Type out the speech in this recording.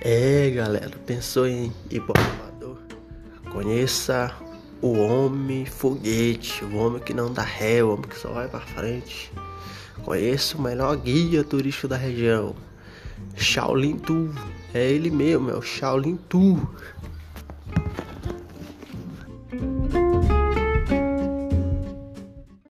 Galera, pensou em ir para o Amador? Conheça o homem foguete, o homem que não dá ré, o homem que só vai para frente. Conheça o melhor guia turístico da região, Shaolin Tour. É ele mesmo, é o Shaolin Tour.